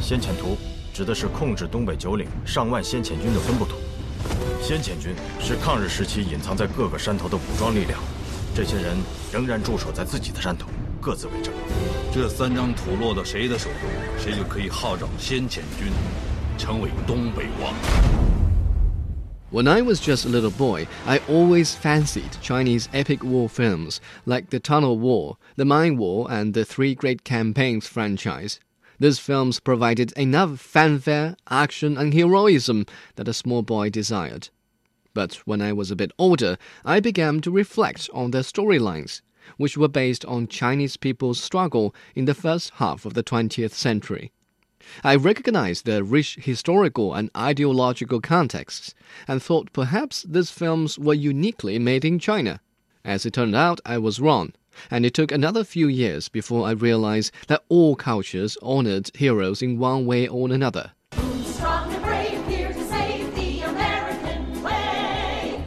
先遣图指的是控制东北九岭上万先遣军的分布图。先遣军是抗日时期隐藏在各个山头的武装力量，这些人仍然驻守在自己的山头，各自为政。 这3张图落到谁的手中，谁就可以号召先遣军，成为东北王。 When I was just a little boy, I always fancied Chinese epic war films like the Tunnel War, the Mine War, and the Three Great Campaigns franchise. These films provided enough fanfare, action, and heroism that a small boy desired. But when I was a bit older, I began to reflect on their storylines, which were based on Chinese people's struggle in the first half of the 20th century. I recognized their rich historical and ideological contexts, and thought perhaps these films were uniquely made in China. As it turned out, I was wrong, and it took another few years before I realized that all cultures honored heroes in one way or another. Strong and brave, here to save the American way.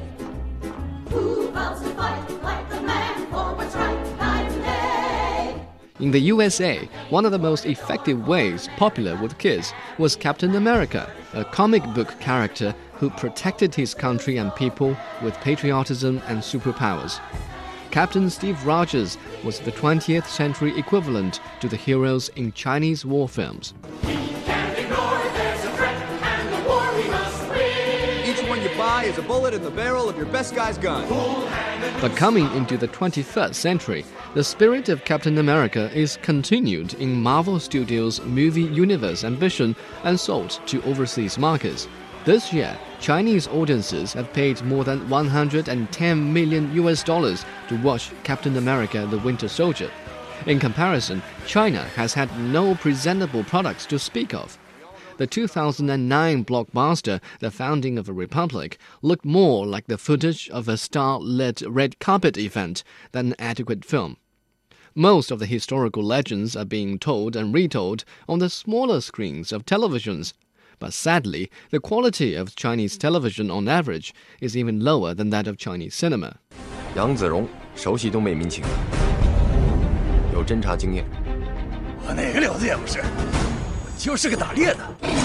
Who vows to fight like a man for what's right night and day? In the USA, one of the most effective ways popular with kids was Captain America, a comic book character who protected his country and people with patriotism and superpowers. Captain Steve Rogers was the 20th century equivalent to the heroes in Chinese war films. We can't ignore, there's a threat, and the war we must win. Each one you buy is a bullet in the barrel of your best guy's gun. But coming into the 21st century, the spirit of Captain America is continued in Marvel Studios' movie universe ambition and sold to overseas markets. This year, Chinese audiences have paid more than $110 million to watch Captain America: The Winter Soldier. In comparison, China has had no presentable products to speak of. The 2009 blockbuster, The Founding of a Republic, looked more like the footage of a star-led red carpet event than an adequate film. Most of the historical legends are being told and retold on the smaller screens of televisions. But sadly, the quality of Chinese television on average is even lower than that of Chinese cinema. 杨子荣熟悉东北民情，有侦察经验。 我哪个了子也不是，我就是个打猎的。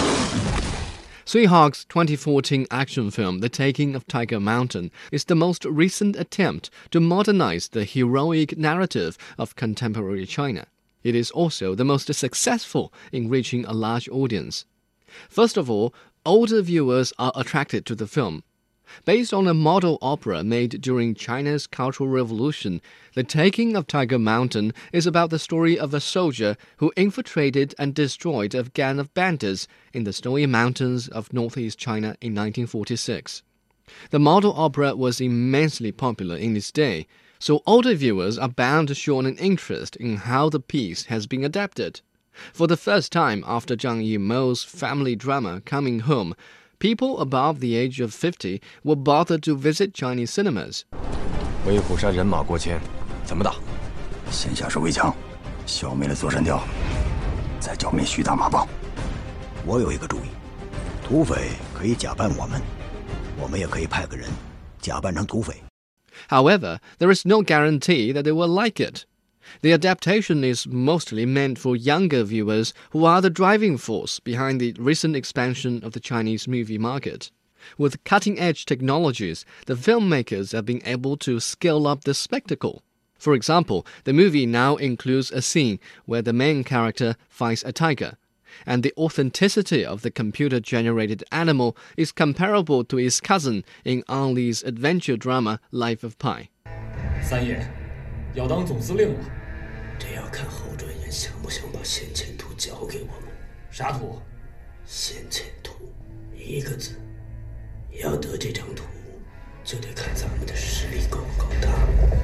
Tsui Hark's 2014 action film The Taking of Tiger Mountain is the most recent attempt to modernize the heroic narrative of contemporary China. It is also the most successful in reaching a large audience. First of all, older viewers are attracted to the film. Based on a model opera made during China's Cultural Revolution, The Taking of Tiger Mountain is about the story of a soldier who infiltrated and destroyed a gang of bandits in the snowy mountains of northeast China in 1946. The model opera was immensely popular in its day, so older viewers are bound to show an interest in how the piece has been adapted. For the first time after Zhang Yimou's family drama Coming Home, people above the age of 50 were bothered to visit Chinese cinemas. 围虎山人马过千，怎么打？ 先下手为强，消灭了座山雕，再剿灭徐大马帮。我有一个主意，土匪可以假扮我们也可以派个人假扮成土匪。 However, there is no guarantee that they will like it. The adaptation is mostly meant for younger viewers who are the driving force behind the recent expansion of the Chinese movie market. With cutting-edge technologies, the filmmakers have been able to scale up the spectacle. For example, the movie now includes a scene where the main character fights a tiger, and the authenticity of the computer-generated animal is comparable to its cousin in Ang Lee's adventure drama Life of Pi. 三爷，要当总司令了。 这要看侯专员想不想把先遣图交给我们。 啥图？ 先遣图，一个字。要得这张图，就得看咱们的实力够不够大。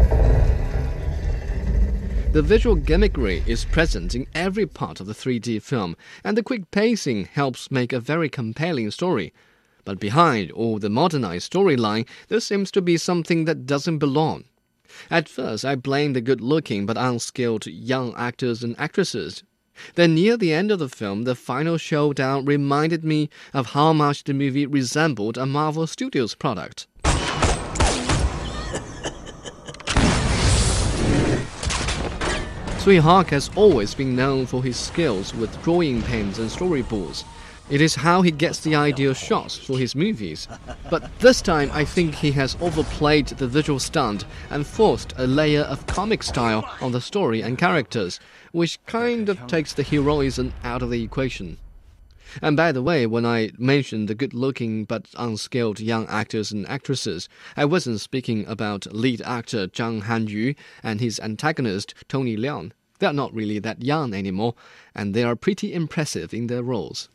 The visual gimmickry is present in every part of the 3D film, and the quick pacing helps make a very compelling story. But behind all the modernized storyline, there seems to be something that doesn't belong. At first, I blamed the good-looking but unskilled young actors and actresses. Then near the end of the film, the final showdown reminded me of how much the movie resembled a Marvel Studios product. Tsui Hark has always been known for his skills with drawing pens and storyboards. It is how he gets the ideal shots for his movies. But this time I think he has overplayed the visual stunt and forced a layer of comic style on the story and characters, which kind of takes the heroism out of the equation. And by the way, when I mentioned the good-looking but unskilled young actors and actresses, I wasn't speaking about lead actor Zhang Hanyu and his antagonist Tony Leung. They're not really that young anymore, and they are pretty impressive in their roles.